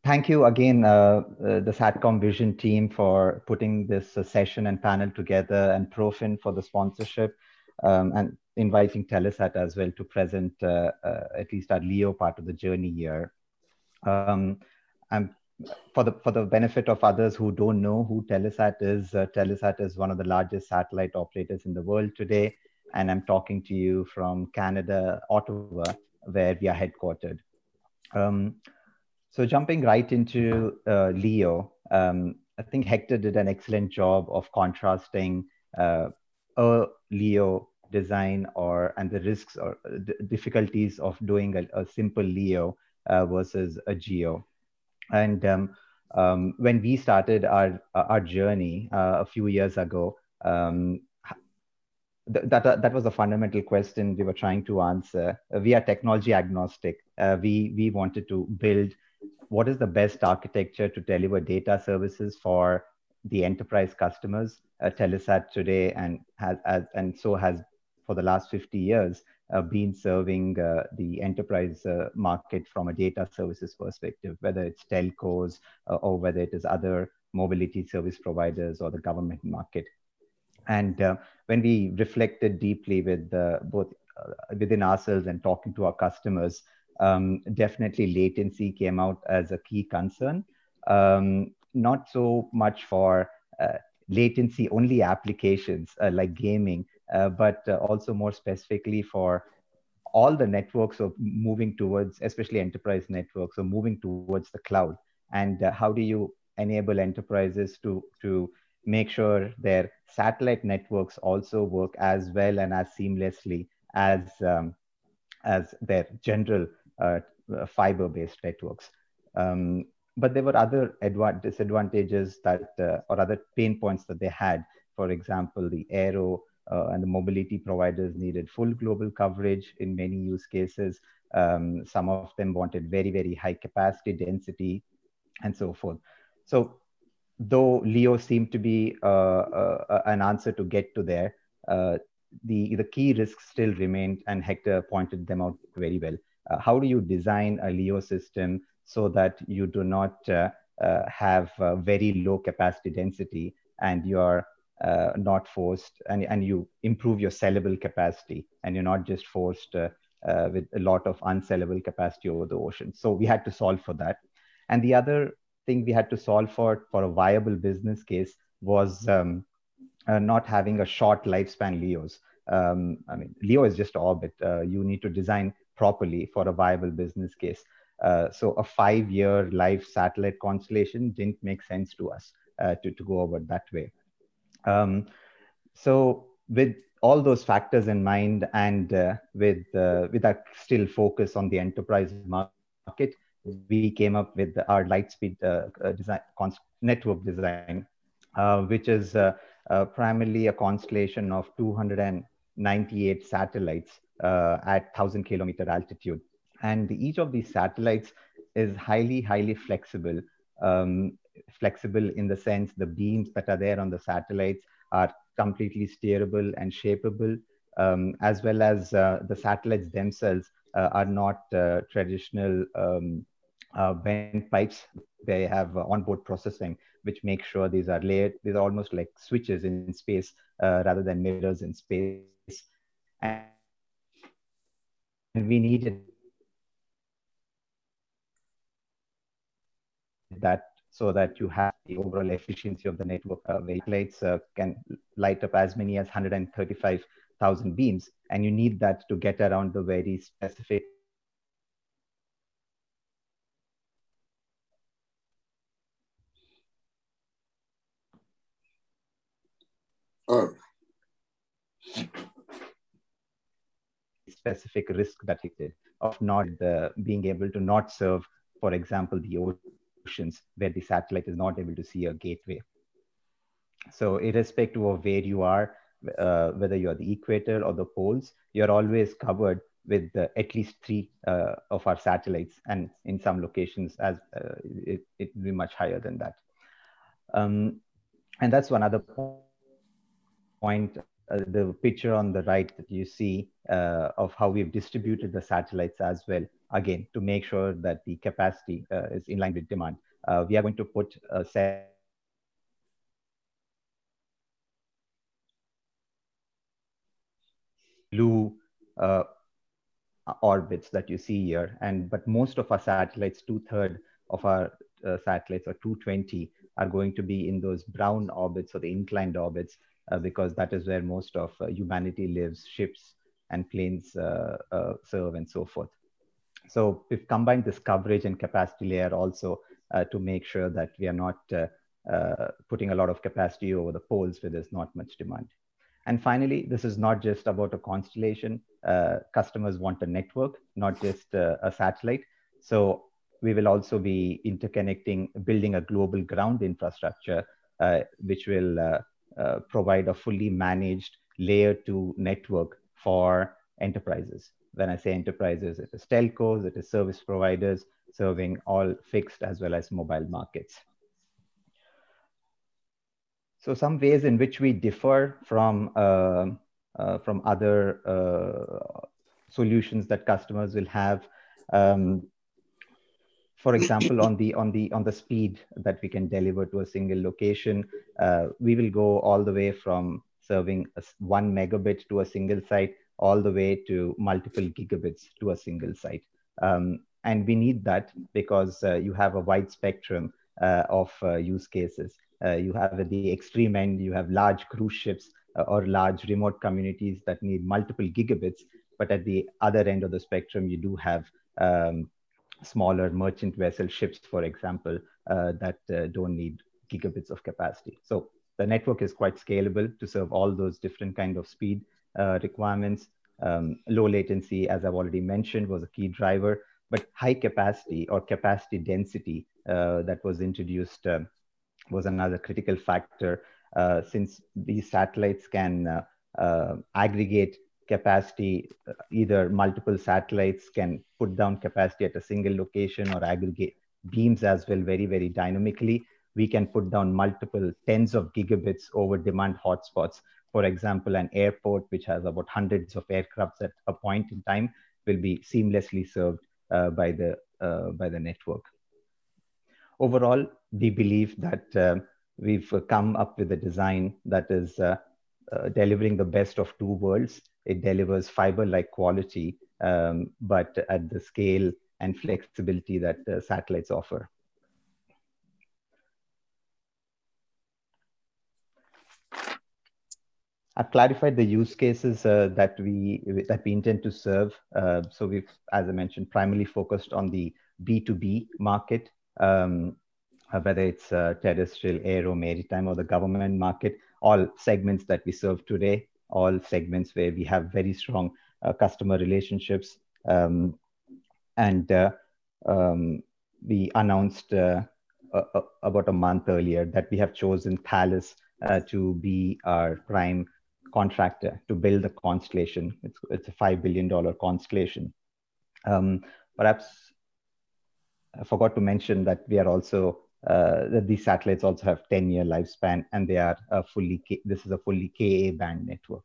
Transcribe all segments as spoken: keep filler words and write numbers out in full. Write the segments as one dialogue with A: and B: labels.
A: thank you again, uh, uh, the SATCOM Vision team, for putting this uh, session and panel together, and Profin for the sponsorship, um, and inviting Telesat as well to present uh, uh, at least our LEO part of the journey here. Um, I'm for the for the benefit of others who don't know who Telesat is. Uh, Telesat is one of the largest satellite operators in the world today, and I'm talking to you from Canada, Ottawa, where we are headquartered. Um, so jumping right into uh, LEO, um, I think Hector did an excellent job of contrasting uh, a LEO design or and the risks or the difficulties of doing a, a simple LEO uh, versus a GEO. And um, um, when we started our our journey uh, a few years ago, um, th- that uh, that was a fundamental question we were trying to answer. Uh, we are technology agnostic. Uh, we we wanted to build what is the best architecture to deliver data services for the enterprise customers. Uh, Telesat today and has as, and so has for the last fifty years uh, been serving uh, the enterprise uh, market from a data services perspective, whether it's telcos uh, or whether it is other mobility service providers or the government market. And uh, when we reflected deeply with uh, both uh, within ourselves and talking to our customers, um, definitely latency came out as a key concern. Um, not so much for uh, latency only applications uh, like gaming, uh, but uh, also more specifically for all the networks of moving towards, especially enterprise networks, or moving towards the cloud. And uh, how do you enable enterprises to to make sure their satellite networks also work as well and as seamlessly as um, as their general uh, uh, fiber-based networks. Um, but there were other adva- disadvantages that, uh, or other pain points that they had. For example, the aero uh, and the mobility providers needed full global coverage in many use cases. Um, some of them wanted very, very high capacity density and so forth. So though LEO seemed to be uh, uh, an answer to get to there, uh, the, the key risks still remained, and Hector pointed them out very well. Uh, how do you design a LEO system so that you do not uh, uh, have uh, very low capacity density and you are uh, not forced, and, and you improve your sellable capacity, and you're not just forced uh, uh, with a lot of unsellable capacity over the ocean. So we had to solve for that. And the other thing we had to solve for for a viable business case was um, uh, not having a short lifespan LEOs. Um, I mean, LEO is just orbit. Uh, you need to design properly for a viable business case. Uh, so a five-year live satellite constellation didn't make sense to us uh, to, to go over that way. Um, so with all those factors in mind, and uh, with uh, with that still focus on the enterprise market, we came up with our Lightspeed uh, uh, design network design, uh, which is uh, uh, primarily a constellation of two hundred ninety-eight satellites uh, at one thousand kilometer altitude. And each of these satellites is highly, highly flexible. Um, flexible in the sense the beams that are there on the satellites are completely steerable and shapeable, um, as well as uh, the satellites themselves uh, are not uh, traditional um, uh, bent pipes. They have uh, onboard processing, which makes sure these are layered. These are almost like switches in space uh, rather than mirrors in space. And we needed that so that you have the overall efficiency of the network uh, very close. Uh, so each of these satellites uh, can light up as many as one hundred thirty-five thousand beams, and you need that to get around the very specific uh, uh, frequencies of transmission that you need. Um, so
B: Oh,
A: very specific risk that existed of not uh, being able to not serve, for example, the oceans where the satellite is not able to see a gateway. So irrespective of where you are, uh, whether you're the equator or the poles, you're always covered with uh, at least three uh, of our satellites, and in some locations, as uh, it, it will be much higher than that. Um, and that's one other point uh, that we wanted to uh, the picture on the right that you see uh, of how we've distributed the satellites as well, again, to make sure that the capacity uh, is in line with demand. Uh, we are going to put a set blue uh, orbits that you see here. And but most of our satellites, two-thirds of our uh, satellites, or two hundred twenty, are going to be in those brown orbits or the inclined orbits, uh, because that is where most of uh, humanity lives, ships and planes uh, uh, serve, and so forth. So we've combined this coverage and capacity layer also uh, to make sure that we are not uh, uh, putting a lot of capacity over the poles where there's not much demand. And finally, this is not just about a constellation. Uh, customers want a network, not just uh, a satellite. So we will also be interconnecting, building a global ground infrastructure, uh, which will uh, uh, provide a fully managed layer two network for enterprises. When I say enterprises, it is telcos, it is service providers serving all fixed as well as mobile markets. So some ways in which we differ from, uh, uh, from other uh, solutions that customers will have. Um, for example, on the, on, the, on the speed that we can deliver to a single location, uh, we will go all the way from serving a one megabit to a single site, all the way to multiple gigabits to a single site. Um, and we need that because uh, you have a wide spectrum uh, of uh, use cases. Uh, you have at the extreme end, you have large cruise ships uh, or large remote communities that need multiple gigabits. But at the other end of the spectrum, you do have um, smaller merchant vessel ships, for example, uh, that uh, don't need gigabits of capacity. So the network is quite scalable to serve all those different kind of speed uh, requirements. Um, low latency, as I've already mentioned, was a key driver, but high capacity or capacity density uh, that was introduced uh, was another critical factor, uh, since these satellites can uh, uh, aggregate capacity. Uh, either multiple satellites can put down capacity at a single location or aggregate beams as well very, very dynamically. We can put down multiple tens of gigabits over demand hotspots. For example, an airport which has about hundreds of aircrafts at a point in time will be seamlessly served uh, by, the, uh, by the network. Overall, we believe that uh, we've come up with a design that is uh, uh, delivering the best of two worlds. It delivers fiber-like quality, um, but at the scale and flexibility that uh, satellites offer. I've clarified the use cases uh, that we that we intend to serve. Uh, so we've, as I mentioned, primarily focused on the B two B market. Um, Uh, whether it's uh, terrestrial, aero, maritime, or the government market, all segments that we serve today, all segments where we have very strong uh, customer relationships. Um, and uh, um, we announced uh, uh, about a month earlier that we have chosen Thales uh, to be our prime contractor to build the constellation. It's, it's a five billion dollars constellation. Um, perhaps I forgot to mention that we are also Uh, that these satellites also have ten year lifespan, and they are uh, fully, K this is a fully Ka band network.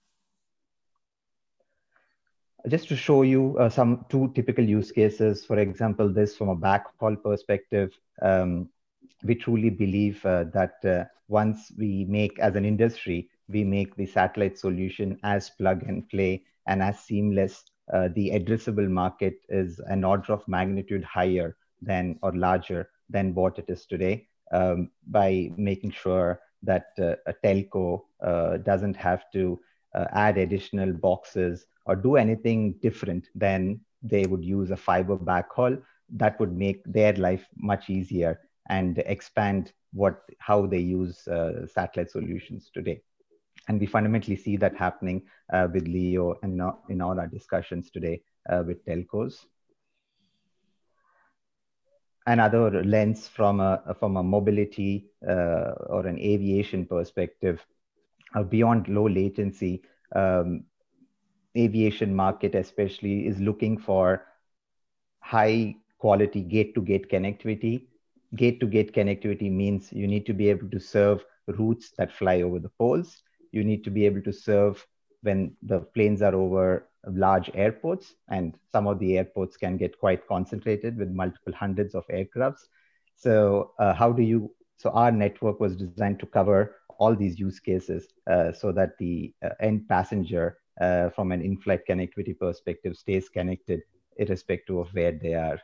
A: Just to show you uh, some two typical use cases, for example, this from a backhaul perspective, um, we truly believe uh, that uh, once we make, as an industry, we make the satellite solution as plug and play and as seamless, uh, the addressable market is an order of magnitude higher than, or larger than what it is today, um, by making sure that uh, a telco uh, doesn't have to uh, add additional boxes or do anything different than they would use a fiber backhaul. That would make their life much easier and expand what, how they use uh, satellite solutions today. And we fundamentally see that happening uh, with LEO and in all our discussions today uh, with telcos. Another lens from a, from a mobility uh, or an aviation perspective, uh, beyond low latency, um, aviation market especially is looking for high quality gate-to-gate connectivity. Gate-to-gate connectivity means you need to be able to serve routes that fly over the poles. You need to be able to serve when the planes are over large airports, and some of the airports can get quite concentrated with multiple hundreds of aircrafts. So uh, how do you, so our network was designed to cover all these use cases uh, so that the uh, end passenger uh, from an in-flight connectivity perspective stays connected irrespective of where they are.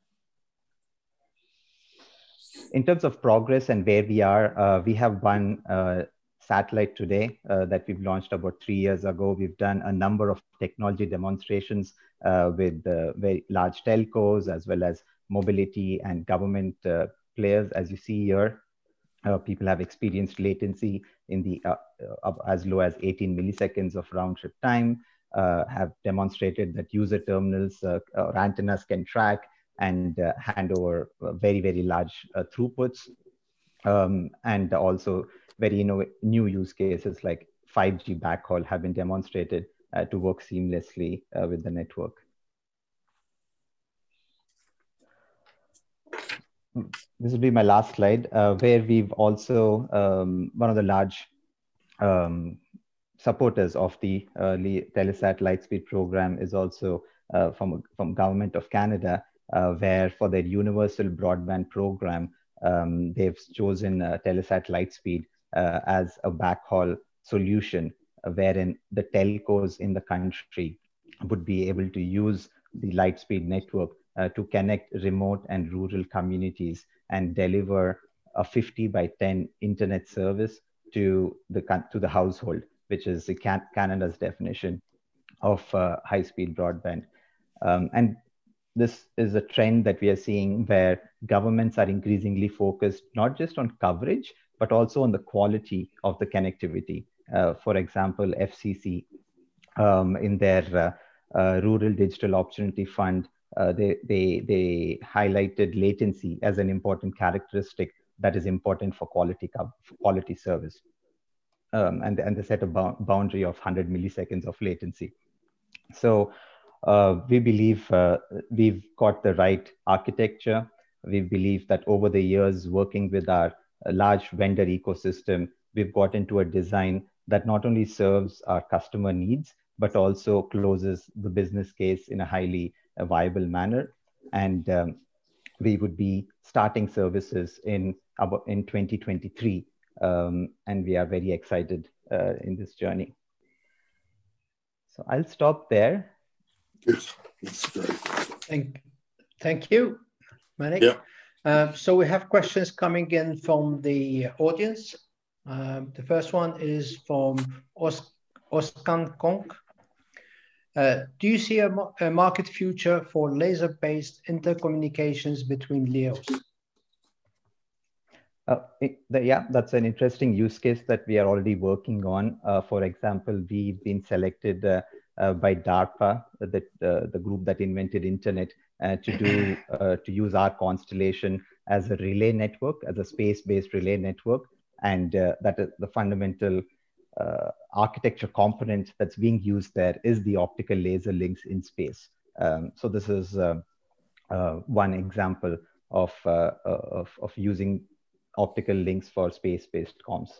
A: In terms of progress and where we are, uh, we have one uh, satellite today uh, that we've launched about three years ago. We've done a number of technology demonstrations uh, with uh, very large telcos, as well as mobility and government uh, players. As you see here, uh, people have experienced latency in the uh, uh, as low as eighteen milliseconds of round trip time, uh, have demonstrated that user terminals uh, or antennas can track and uh, hand over uh, very, very large uh, throughputs. Um, and also very you know, new use cases like five G backhaul have been demonstrated uh, to work seamlessly uh, with the network. This will be my last slide, uh, where we've also, um, one of the large um, supporters of the uh, Telesat Lightspeed program is also uh, from, from Government of Canada, uh, where for their universal broadband program, um, they've chosen uh, Telesat Lightspeed uh, as a backhaul solution, uh, wherein the telcos in the country would be able to use the Lightspeed network uh, to connect remote and rural communities and deliver a fifty by ten internet service to the, to the household, which is the Can Canada's definition of uh, high-speed broadband. Um, and this is a trend that we are seeing where governments are increasingly focused not just on coverage, but also on the quality of the connectivity. Uh, for example, F C C, um, in their uh, uh, Rural Digital Opportunity Fund, uh, they, they, they highlighted latency as an important characteristic that is important for quality, for quality service. Um, and, and they set a boundary of one hundred milliseconds of latency. So uh, we believe uh, we've got the right architecture. We believe that over the years, working with our large vendor ecosystem, we've got into a design that not only serves our customer needs, but also closes the business case in a highly uh, viable manner. And um, we would be starting services in, in twenty twenty-three. Um, and we are very excited uh, in this journey. So I'll stop there.
B: Good. That's great.
C: Thank, thank you, Manik.
B: Yeah.
C: Uh, so we have questions coming in from the audience. Um, the first one is from Os Oskan Kong. Uh, do you see a, a market future for laser-based intercommunications between L E Os?
A: Uh, it, the, yeah, that's an interesting use case that we are already working on. Uh, for example, we've been selected uh, uh, by DARPA, the, uh, the group that invented internet, uh, to do uh, to use our constellation as a relay network, as a space-based relay network, and uh, that is the fundamental uh, architecture component that's being used there is the optical laser links in space. Um, so this is uh, uh, one example of uh, of, of using optical links for space-based comms.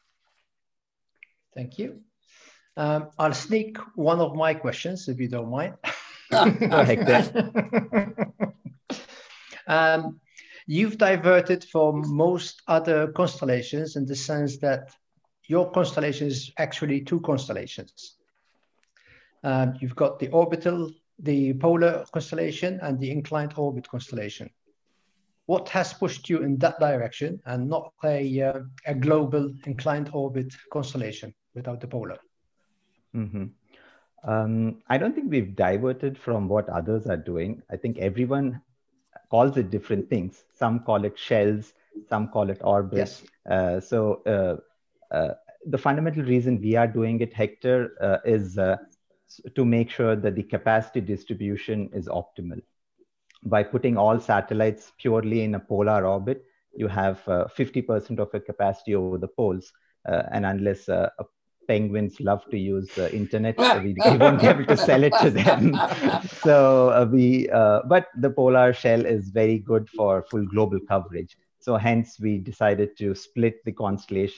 C: Thank you. Um, I'll sneak one of my questions, if you don't mind.
A: Go ahead.
C: um, you've diverted from most other constellations in the sense that your constellation is actually two constellations. Um, you've got the orbital, the polar constellation, and the inclined orbit constellation. What has pushed you in that direction and not a, uh, a global inclined orbit constellation without the polar?
A: Mm-hmm. um, I don't think we've diverted from what others are doing. I think everyone calls it different things. Some call it shells, some call it orbits.
C: Yes.
A: Uh, so uh, uh, the fundamental reason we are doing it, Hector, uh, is uh, to make sure that the capacity distribution is optimal. By putting all satellites purely in a polar orbit, you have fifty percent uh, of your capacity over the poles. Uh, and unless uh, penguins love to use the internet, we, we won't be able to sell it to them. So uh, we, uh, but the polar shell is very good for full global coverage. So hence we decided to split the constellation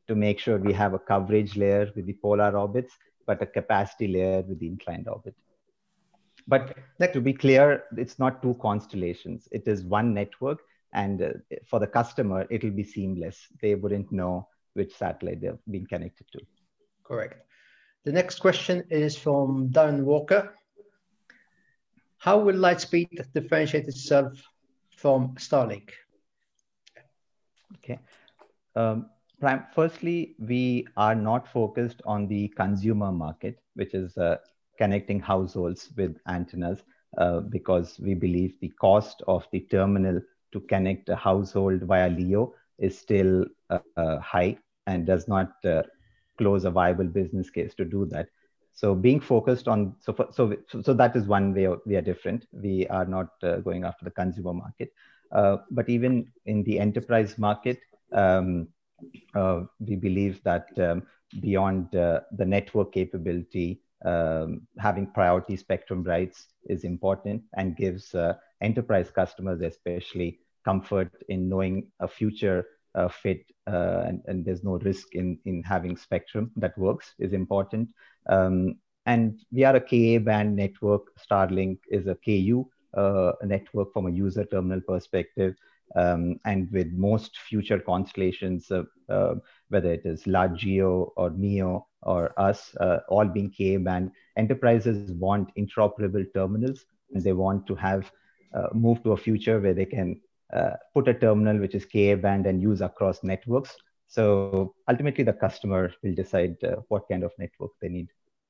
A: to make sure we have a coverage layer with the polar orbits, but a capacity layer with the inclined orbit. But to be clear, it's not two constellations. It is one network. And uh, for the customer, it'll be seamless. They wouldn't know which satellite they're being connected to.
C: Correct. The next question is from Darren Walker. How will Lightspeed differentiate itself from Starlink?
A: Okay. Um, firstly, we are not focused on the consumer market, which is uh, connecting households with antennas, uh, because we believe the cost of the terminal to connect a household via LEO is still uh, uh, high and does not uh, close a viable business case to do that. So being focused on, so for, so so that is one way we are different. We are not uh, going after the consumer market, uh, but even in the enterprise market, um, uh, we believe that um, beyond uh, the network capability, um, having priority spectrum rights is important and gives uh, enterprise customers especially comfort in knowing a future uh, fit uh, and, and there's no risk in, in having spectrum that works is important. Um, and we are a Ka band network. Starlink is a Ku uh, network from a user terminal perspective. Um, and with most future constellations, uh, uh, whether it is large GEO or MEO or us, uh, all being Ka band, enterprises want interoperable terminals, and they want to have uh, move to a future where they can uh, put a terminal which is Ka band and use across networks. So ultimately, the customer will decide uh, what kind of network they need.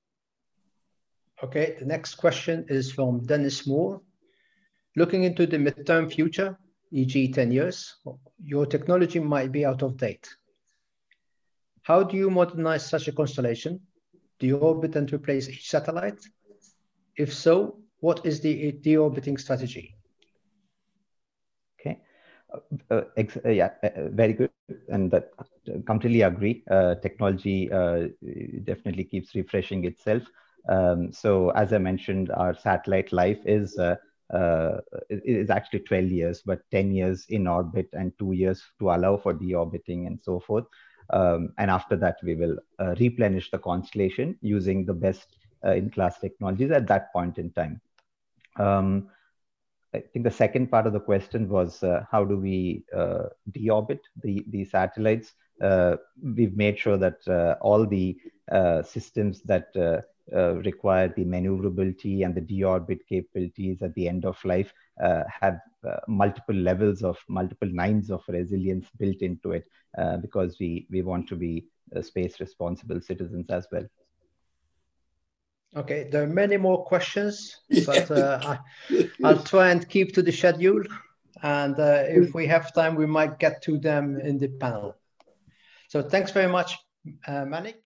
C: Okay, the next question is from Dennis Moore. Looking into the midterm future, for example ten years, your technology might be out of date. How do you modernize such a constellation? Do you orbit and replace each satellite? If so, what is the deorbiting strategy?
A: Okay, uh, uh, yeah, uh, very good, and that uh, completely agree. Uh, technology uh, definitely keeps refreshing itself. Um, so as I mentioned, our satellite life is uh, uh, is actually twelve years, but ten years in orbit and two years to allow for deorbiting and so forth. Um, and after that, we will uh, replenish the constellation using the best uh, in-class technologies at that point in time. Um, I think the second part of the question was uh, how do we uh, deorbit the, the satellites? Uh, we've made sure that uh, all the uh, systems that uh, uh, require the maneuverability and the deorbit capabilities at the end of life uh, have uh, multiple levels of multiple nines of resilience built into it, uh, because we, we want to be uh, space responsible citizens as well.
C: Okay, there are many more questions, but uh, I, I'll try and keep to the schedule. And uh, if we have time, we might get to them in the panel. So thanks very much, uh, Manik.